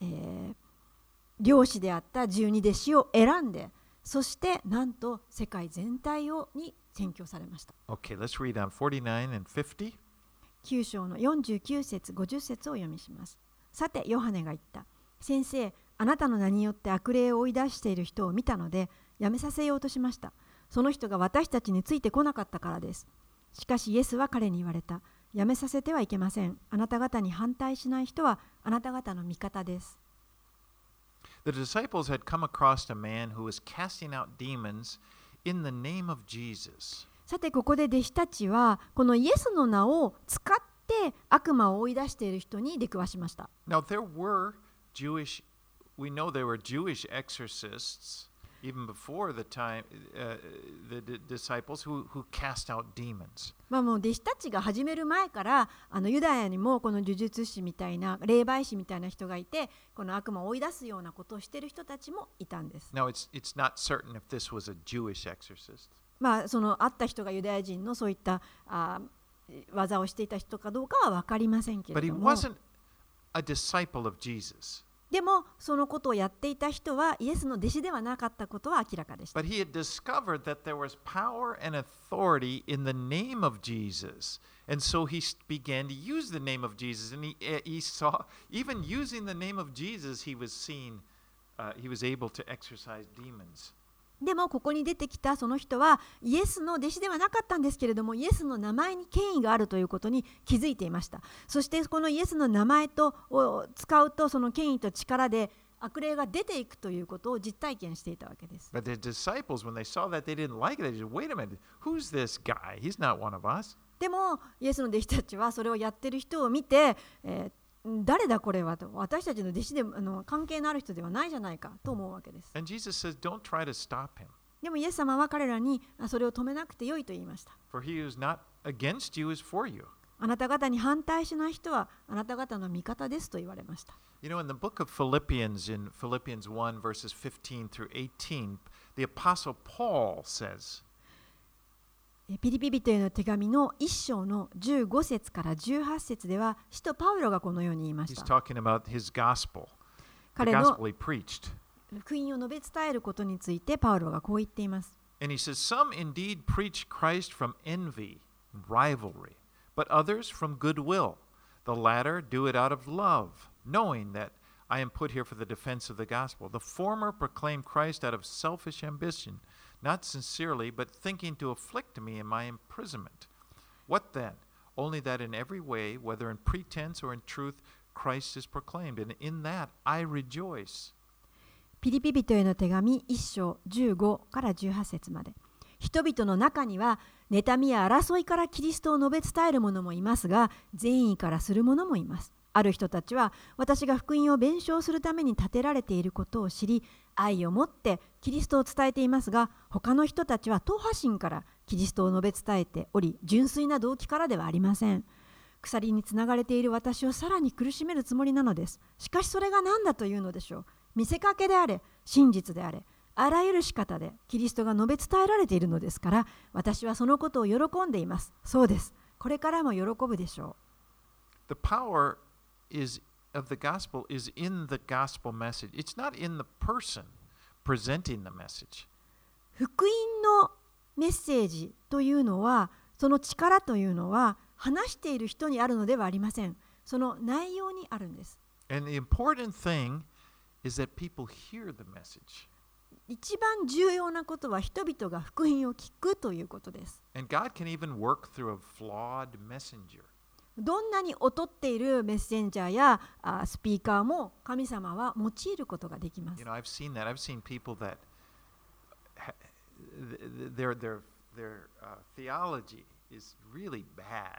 漁師であった12弟子を選んで、そしてなんと世界全体に宣教されました。 Okay, let's read on 49 and 50. 9章の49節50節を読みします。さてヨハネが言った。先生、あなたの名によって悪霊を追い出している人を見たのでやめさせようとしました。その人が私たちについてこなかったからです。しかしイエスは彼に言われた。やめさせてはいけません。あなた方に反対しない人はあなた方の味方です。 The disciples had come across a man who was casting out demons in the name of Jesus. さてここで弟子たちはこのイエスの名を使って悪魔を追い出している人に出くわしました。 Now we know there were Jewish exorcists even before the time, the disciples who cast out demons. もう弟子たちが始める前からユダヤにもこの呪術師みたいな霊媒師みたいな人がいて、この悪魔を追い出すようなことをしている人たちもいたんです。 Now it's not certain if this was a Jewish exorcist. その会った人がユダヤ人のそういった技をしていた人かどうかは分かりませんけれ But he ども、 wasn't a disciple of Jesus. でもそのことをやっていた人はイエスの弟子ではなかったことは明らかでした。 But he had discovered that there was power and authority in the name of Jesus. And so he began to use the name of Jesus. And he saw, even using the name of Jesus, he was able to exorcise demons. でもここに出てきたその人はイエスの弟子ではなかったんですけれども、イエスの名前に権威があるということに気づいていました。そしてこのイエスの名前を使うとその権威と力で悪霊が出ていくということを実体験していたわけです。 But the disciples, when they saw that, they didn't like it. They said, wait a minute, who's this guy? He's not one of us. でもイエスの弟子たちはそれをやっている人を見て、誰だこれはと、私たちの弟子で関係のある人ではないじゃないかと思うわけです。 And Jesus says, don't try to stop him. でもイエス様は彼らにそれを止めなくてよいと言いました。 For he who is not against you is for you. あなた方に反対しない人はあなた方の味方ですと言われました。 You know, in the book of Philippians, in Philippians 1, verses 15 through 18, the Apostle Paul says, ピリピ人への手紙の1章の15節から18節では使徒パウロがこのように言いまし he's た。 talking about his gospel, the 彼の gospel he preached. 福音を述べ伝えることについてパウロがこう言っています。 And he says, some indeed preach Christ from envy, rivalry, but others from goodwill. The latter do it out of love, knowing that I am put here for the defense of the gospel. The former proclaim Christ out of selfish ambition, not sincerely, but thinking to afflict me in my imprisonment. What then? Only that in every way, whether in pretense or in truth, Christ is proclaimed, and in that I rejoice. ピリピ人への手紙1章15から18節まで。人々の中には妬みや争いからキリストを述べ伝える者もいますが、善意からする者もいます。ある人たちは私が福音を弁償するために立てられていることを知り、愛を持ってキリストを伝えていますが、他の人たちは党派心からキリストを述べ伝えており、純粋な動機からではありません。鎖につながれている私をさらに苦しめるつもりなのです。しかしそれが何だというのでしょう。見せかけであれ、真実であれ、あらゆる仕方でキリストが述べ伝えられているのですから、私はそのことを喜んでいます。そうです。これからも喜ぶでしょ The power of the gospel is in the gospel message. It's not in the person presenting the message. う。福音のメッセージというのは、その力というのは話している人にあるのではありません。その内容にあるんです。 And the important thing is that people hear the message. 一番重要なことは人々が福音を聞くということです。 And God can even work through a flawed messenger. どんなに劣っているメッセンジャーやスピーカーも神様は用いることができます。 You know, I've seen that. I've seen people that their theology is really bad,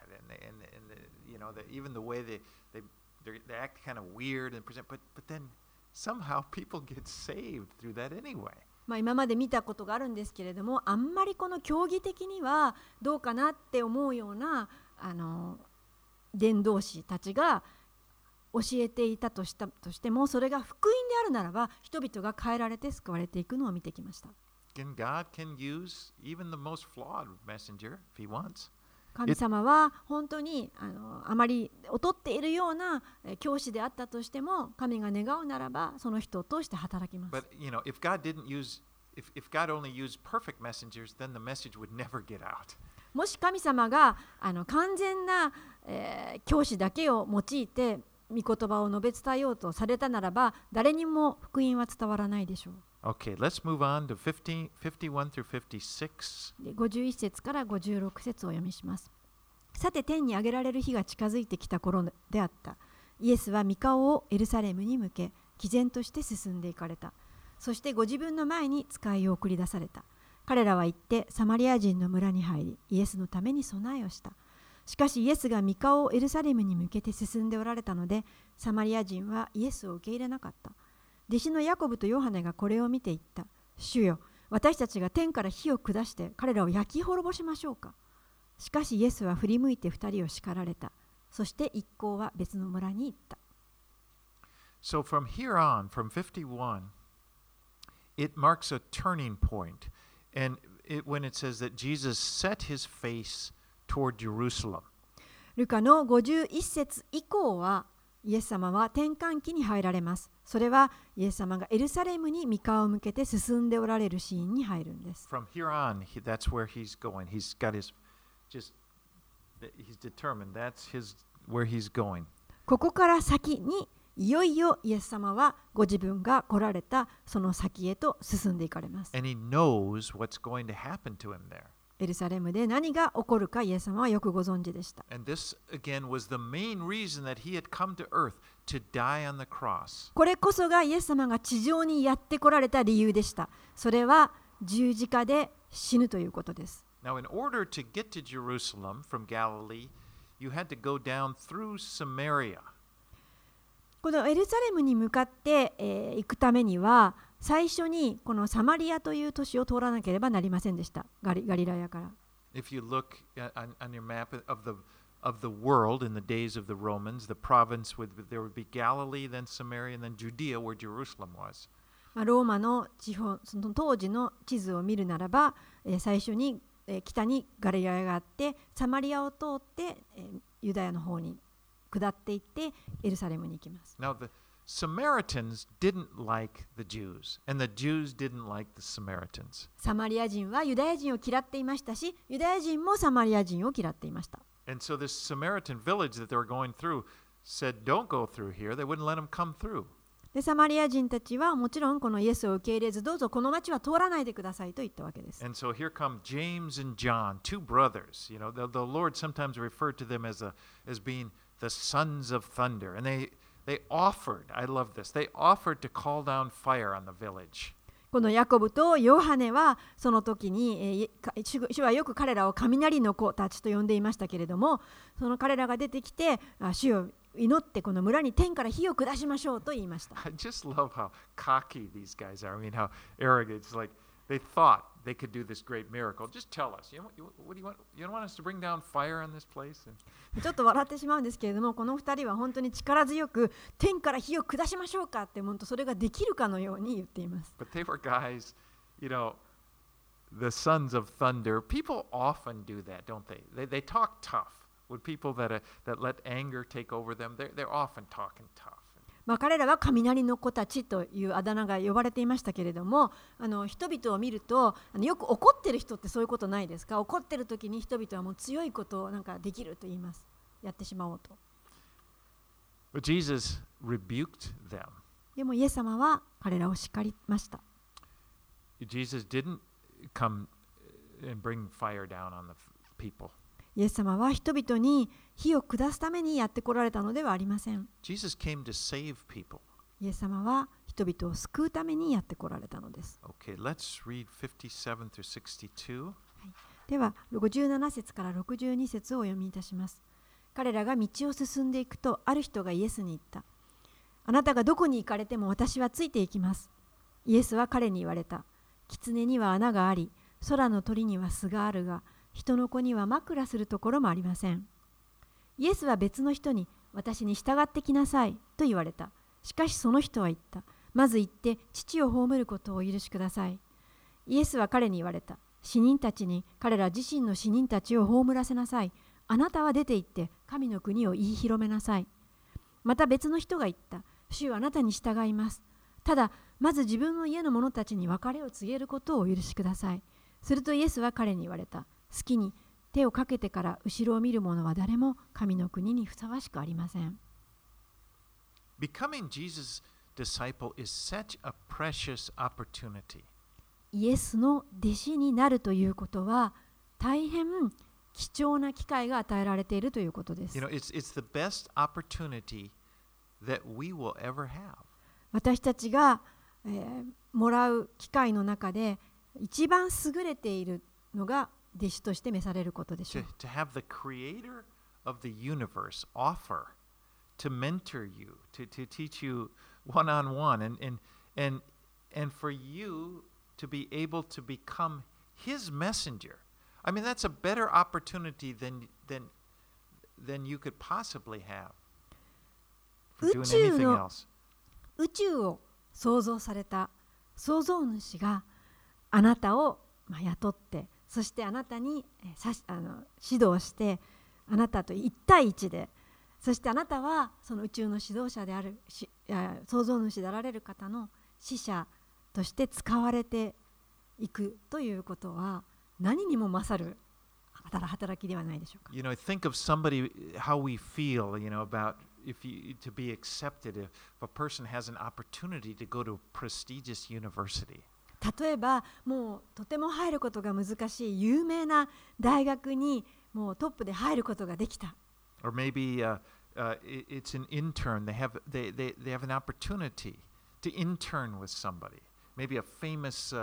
even the way they act kind of weird and present, but then somehow people get saved through that anyway. 今まで見たことがあるんですけれども、あんまりこの教義的にはどうかなって思うような伝道師たちが教えていたとしても、それが福音であるならば人々が変えられて救われていくのを見てきました。 And God can use even the most flawed messenger if He wants. 神様は本当にあまり劣っているような教師であったとしても、神が願うならばその人を通して働きます。 But if God only used perfect messengers, then the message would never get out. もし神様が完全な、教師だけを用いて御言葉を述べ伝えようとされたならば、誰にも福音は伝わらないでしょう。 Okay, let's move on to 51 through 56. 51節から56節をお読みします。さて、天に上げられる日が近づいてきた頃であった。イエスは御顔をエルサレムに向け、毅然として進んでいかれた。そしてご自分の前に使いを送り出された。彼らは行ってサマリア人の村に入り、イエスのために備えをした。しかしイエスが御顔をエルサレムに向けて進んでおられたので、サマリア人はイエスを受け入れなかった。弟子のヤコブとヨハネがこれを見て言った。主よ、私たちが天から火を下して彼らを焼き滅ぼしましょうか。しかしイエスは振り向いて二人を叱られた。そして一行は別の村に行った。 So from here on, from 51, it marks a turning point. And when it says that Jesus set his face toward Jerusalem. ルカの51節以降は、イエス様は転換期に入られます。それはイエス様がエルサレムに御顔を向けて進んでおられるシーンに入るんです。 From here on, that's where he's going. He's determined. That's where he's going. ここから先にいよいよイエス様はご自分が来られたその先へと進んでいかれます。 And he knows what's going to happen to him there. エルサレムで何が起こるかイエス様はよくご存知でした。 And this again was the main reason that he had come to earth to die on the cross. これこそがイエス様が地上にやって来られた理由でした。それは十字架で死ぬということです。 Now, in order to get to Jerusalem from Galilee, you had to go down through Samaria. このエルサレムに向かって、行くためには、最初にこのサマリアという都市を通らなければなりませんでした。ガリラヤから。 If you look on your map of the world in the days of the Romans, the province there would be Galilee, then Samaria, and then Judea, where Jerusalem was. ローマの地方、その当時の地図を見るならば、最初に北にガリラヤがあって、サマリアを通って、ユダヤの方に下っていってエルサレムに行きます。 Now the Samaritans didn't like the Jews, and the Jews didn't like the Samaritans. サマリア人はユダヤ人を嫌っていましたし、ユダヤ人もサマリア人を嫌っていました。 And so this Samaritan village that they were going through said, "Don't go through here." They wouldn't let them come through. でサマリア人たちはもちろんこのイエスを受け入れず、どうぞこの町は通らないでくださいと言ったわけです。 And so here come James and John, two brothers. You know, the Lord sometimes referred to them as being the sons of thunder, and they offered, I love this, they offered to call down fire on the village. このヤコブとヨハネはその時に、主はよく彼らを雷の子たちと呼んでいましたけれども、その彼らが出てきて、主を祈ってこの村に天から火を下しましょうと言いました。 I just love how cocky these guys are. I mean, how arrogant. It's like they thought they could do this great miracle. Just tell us. What do you want? You don't want us to bring down fire on this place? ちょっと笑ってしまうんですけれども、この2人は本当に力強く天から火を下しましょうかって本当それができるかのように言っています。 But they were guys, the sons of thunder. People often do that, don't they? They talk tough. With people that let anger take over them, they're often talking tough. 彼らは雷の子たちというあだ名が呼ばれていましたけれども、人々を見るとよく怒ってる人ってそういうことないですか？怒ってる時に人々はもう強いことをなんかできると言います。やってしまおうと。 But Jesus rebuked them. でもイエス様は彼らを叱りました。 Jesus didn't come and bring fire down on the people. イエス様は人々に火を下すためにやってこられたのではありません。 Jesus came to save people. イエス様は人々を救うためにやってこられたのです。 Okay, let's read 57 through 62. では、57節から62節をお読みいたします。彼らが道を進んでいくと、ある人がイエスに言った。あなたがどこに行かれても私はついていきます。イエスは彼に言われた。狐には穴があり、空の鳥には巣があるが、人の子には枕するところもありません。イエスは別の人に、私に従ってきなさいと言われた。しかしその人は言った。まず行って父を葬ることをお許しください。イエスは彼に言われた。死人たちに彼ら自身の死人たちを葬らせなさい。あなたは出て行って神の国を言い広めなさい。また別の人が言った。主はあなたに従います。ただ、まず自分の家の者たちに別れを告げることをお許しください。するとイエスは彼に言われた。好きに手をかけてから後ろを見る者は誰も神の国にふさわしくありません。 Becoming Jesus' disciple is such a precious opportunity. イエスの弟子になるということは大変貴重な機会が与えられているということです。 It's the best opportunity that we will ever have. 私たちが、もらう機会の中で一番優れているのが弟子として召されることでしょう。 To have the creator of the universe offer to mentor you, to teach you one-on-one, and for you to be able to become his messenger. I mean, that's a better opportunity than you could possibly have for doing anything else. 宇宙を創造された創造主があなたを雇って、そしてあなたに指導して、あなたと1対1で、そしてあなたはその宇宙の指導者である創造主であられる方の使者として使われていくということは何にも勝る働きではないでしょうか。 Think of somebody, how we feel, about to be accepted if a person has an opportunity to go to a prestigious university. 例えばもうとても入ることが難しい有名な大学にもうトップで入ることができた。 Or maybe it's an intern. They have an opportunity to intern with somebody. Maybe a famous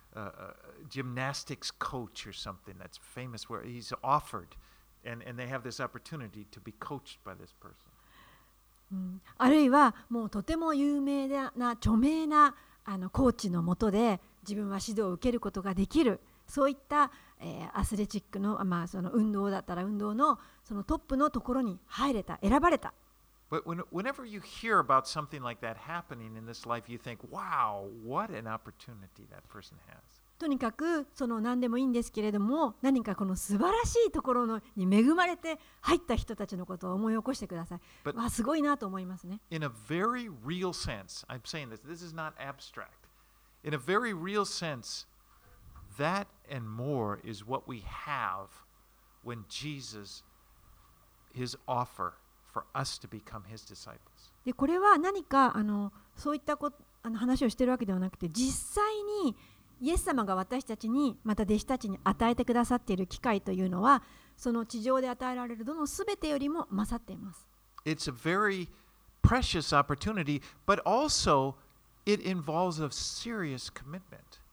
gymnastics coach or something that's famous where he's offered, and they have this opportunity to be coached by this person. あるいはもうとても有名な著名なコーチの下で自分は指導を受けることができる、そういった、アスレチックの、その運動だったら運動のそのトップのところに入れた、選ばれた。 But whenever you hear about something like that happening in this life, you think, wow, what an opportunity that person has. とにかくその何でもいいんですけれども、何かこの素晴らしいところに恵まれて入った人たちのことを思い起こしてください。わあ、すごいなと思いますね。 In a very real sense, I'm saying this is not abstract. In a very real sense, that and more is what we have when Jesus, his offer for us to become his disciples. でこれは何かそういった話をしているわけではなくて、実際にイエス様が私たちにまた弟子たちに与えてくださっている機会というのは、その地上で与えられるどのすべてよりも勝っています。 It's a very precious opportunity, but also it involves a serious commitment.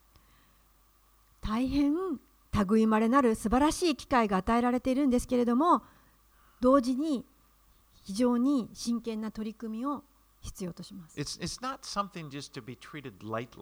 大変類いまれなる素晴らしい機会が与えられているんですけれども、同時に非常に真剣な取り組みを必要とします。 It's not something just to be treated lightly.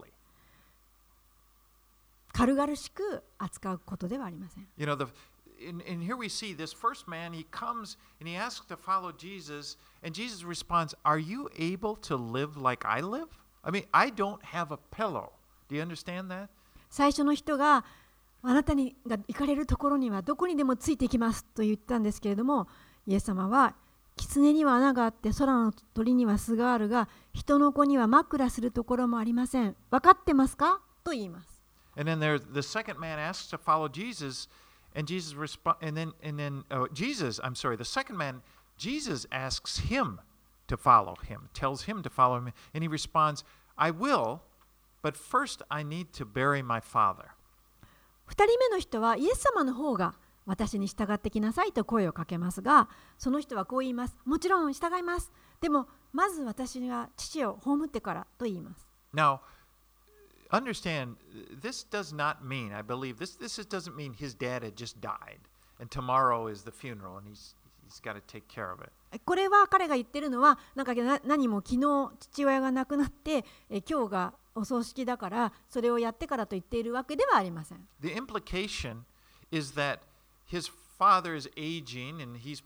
軽々しく扱うことではありません。 You know, and here we see this first man, he comes and he asks to follow Jesus, and Jesus responds, Are you able to live like I live? I mean, I don't have a pillow. Do you understand that? 最初の人があなたにが行かれるところにはどこにでもついていきますと言ったんですけれども、イエス様は狐には穴があって空の鳥には巣があるが人の子には枕するところもありません。分かってますかと言います。 And then the second man asks to follow Jesus, and Jesus responds, and then the second man, Jesus asks him to follow him, tells him to follow him, and he responds, I will, but first I need to bury my father. 2人目の人はイエス様の方が私に従ってきなさいと声をかけますが、その人はこう言います。もちろん従います。でもまず私が父を葬ってからと言います。 Now, understand, this does not mean, I believe, this doesn't mean his dad had just died, and tomorrow is the funeral, and he's got to take care of it. これは彼が言ってるのは何も昨日父親が亡くなって今日がお葬式だからそれをやってからと言っているわけではありません。 The implication is that his father is aging, and he's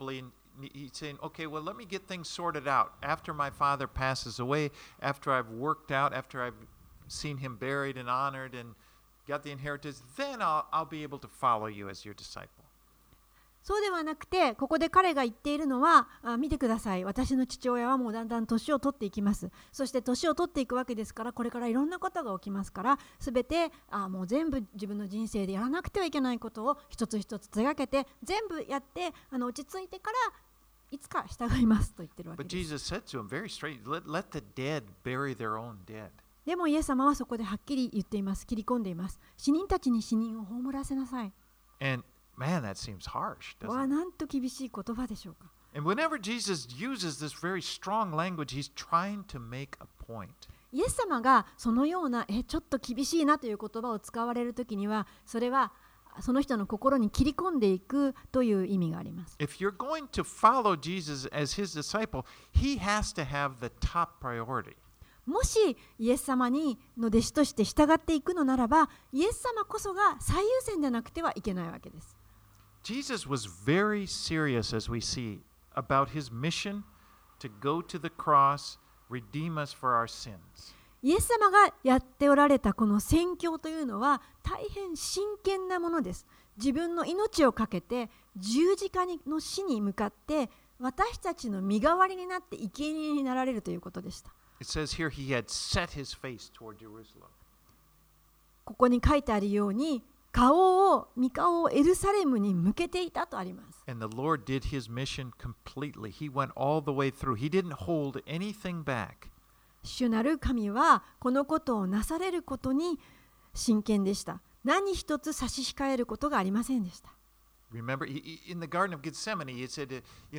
saying, okay, well, let me get things sorted out. After my father passes away, after I've worked out, after I've seen him buried and honored and got the inheritance, then I'll be able to follow you as your disciple. そうではなくて、ここで彼が言っているのは、見てください。私の父親はもうだんだん年を取っていきます。そして年を取っていくわけですから、これからいろんなことが起きますから、すべてもう全部自分の人生でやらなくてはいけないことを一つ一つ手がけて、全部やって落ち着いてからいつか従いますと言ってるわけ But です。 Jesus said to him very straight, let the dead bury their own dead. でもイエス様はそこではっきり言っています。切り込んでいます。死人たちに死人を葬らせなさい。 And man, that seems harsh, わあ、 doesn't it? なんと厳しい言葉でしょうか。 And whenever Jesus uses this very strong language, he's trying to make a point. イエス様がそのようなちょっと厳しいなという言葉を使われるときには、それはその人の心に切り込んでいくという意味があります。 If you're going to follow Jesus as his disciple, he has to have the top priority. もしイエス様の弟子として従っていくのならば、イエス様こそが最優先でなくてはいけないわけです。 Jesus was very serious, as we see, about his mission to go to the cross, redeem us for our sins. イエス様がやっておられたこの宣教というのは大変真剣なものです。自分の命をかけて十字架の死に向かって私たちの身代わりになって生贄になられるということでした。 It says here he had set his face toward Jerusalem. ここに書いてあるように御顔をエルサレムに向けていたとあります。 And the Lord did his mission completely. He went all the way through. He didn't hold anything back. 主なる神はこのことをなされることに真剣でした。何一つ差し控えることがありませんでした。 Remember, in the Garden of Gethsemane, he said,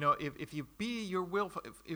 if you be your will,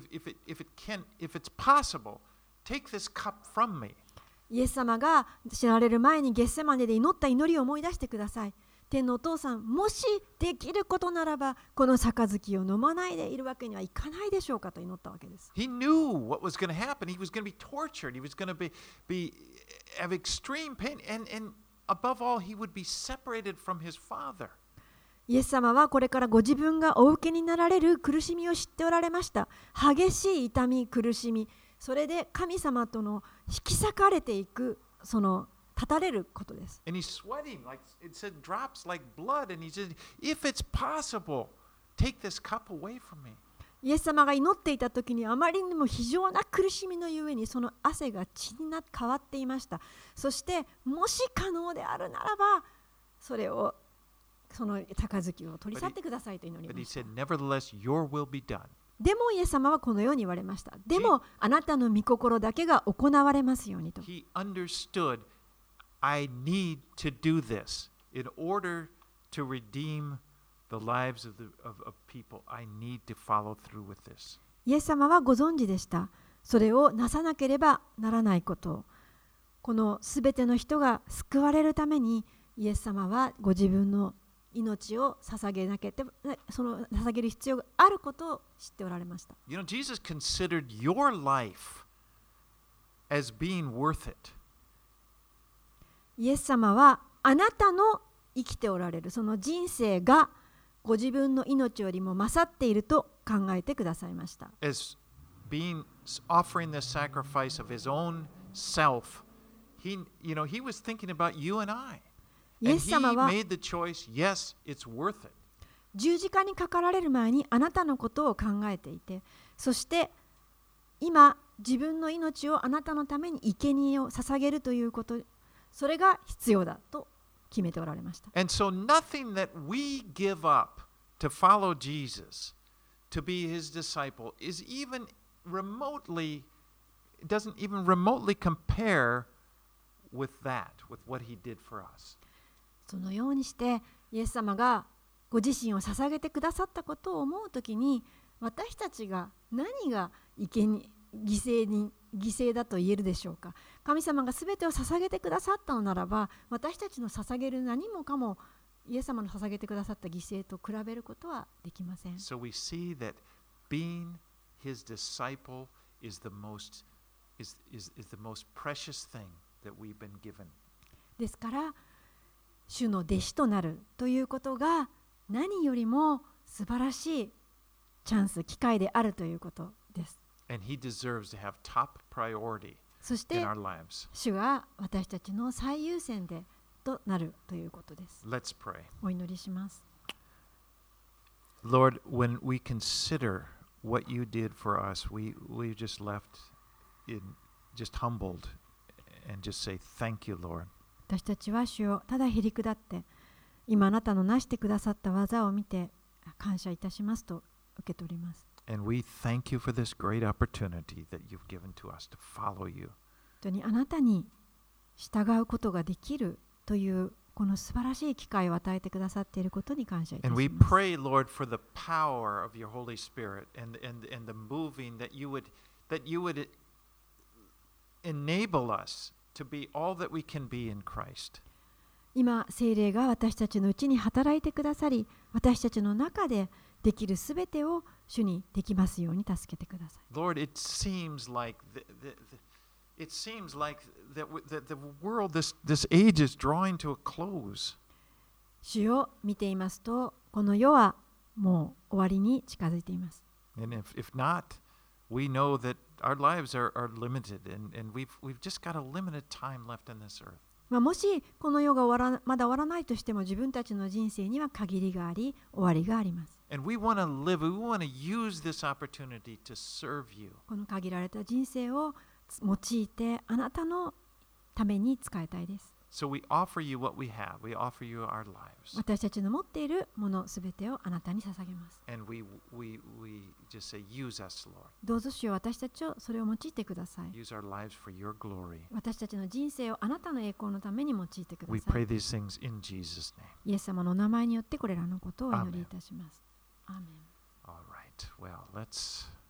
if it's possible, take this cup from me. イエス様が死なれる前にゲッセマネで祈った祈りを思い出してください。天のお父さん、もしできることならば、この杯を飲まないでいるわけにはいかないでしょうかと祈ったわけです。 He knew what was going to happen. He was going to be tortured. He was going to have extreme pain. And above all, he would be separated from his father. イエス様はこれからご自分がお受けになられる苦しみを知っておられました。激しい痛み、苦しみ、それで神様との引き裂かれていく、その立たれることです。 And he's sweating, like it said, drops like blood. And he said, if it's possible, take this cup away from me. イエス様が祈っていた時にあまりにも非常な苦しみのゆえにその汗が血に変わっていました。そしてもし可能であるならばその杯を取り去ってくださいと祈り But ま he した。 said, nevertheless, your will be done. でもイエス様はこのように言われました。でもあなたの御心だけが行われますようにと。 He understood, I need to do this in order to redeem the lives of people. I need to follow through with this. イエス様はご存知でした。 それをなさなければならないことを、このすべての人が救われるためにイエス様はご自分の命を捧げなければ、その捧げる必要があることを知っておられました。 You know, Jesus considered your life as being worth it. イエス様はあなたの生きておられるその人生がご自分の命よりも勝っていると考えてくださいました。 As offering the sacrifice of his own self, he was thinking about you and I. イエ And ス he 様は made the choice, yes, it's worth it. 十字架にかかられる前にあなたのことを考えていて、そして今自分の命をあなたのために生贄を捧げるということ、それが必要だと決めておられました。 And so nothing that we give up to follow Jesus, to be his disciple, is even remotely, it doesn't even remotely compare with that, with what he did for us. そのようにしてイエス様がご自身を捧げてくださったことを思うときに、私たちが何が犠牲だと言えるでしょうか。神様がすべてを捧げてくださったのならば、私たちの捧げる何もかもイエス様の捧げてくださった犠牲と比べることはできません。 So we see that being his disciple is the most precious thing that we've been given. ですから主の弟子となるということが何よりも素晴らしいチャンス、機会であるということです。 And he deserves to have top priority そし in て our lives. 主が私たちの最優先でとなるということです。 Let's pray. お祈りします。 Lord, when we consider what you did for us, we just left just humbled and just say thank you, Lord. 私たちは主をただへり下って、今あなたのなしてくださった技を見て感謝いたしますと受け取ります。 And we thank you for this great opportunity that you've given to us to follow you. 本当にあなたに従うことができるというこの素晴らしい機会を与えてくださっていることに感謝いたし And we ます。 pray, Lord, for the power of your Holy Spirit and the moving that you would enable us to be all that we can be in Christ. 今、聖霊が私たちのうちに働いてくださり、私たちの中でできるすべてを主にできますように助けてください。 Lord, it seems like the world, this age is drawing to a close. 主を見ていますと、この世はもう終わりに近づいています。 And if not, we know that our lives are limited and we've just got a limited time left in this earth. もしこの世がまだ終わらないとしても、自分たちの人生には限りがあり、終わりがあります。 And we want to use this opportunity to serve you. この限られた人生を用いてあなたのために使いたいです。 So we offer you what we have. We offer you our lives. 私たちの持っているものすべてをあなたに捧げます。 And we just say, use us, Lord. どうぞ主よ、私たちをそれを用いてください。 Use our lives for your glory. 私たちの人生をあなたの栄光のために用いてくだ We さ pray い。 these things in Jesus' name. イエス様のお名前によってこれらのことをお祈りいたします。アーメン。 All right. Well, let's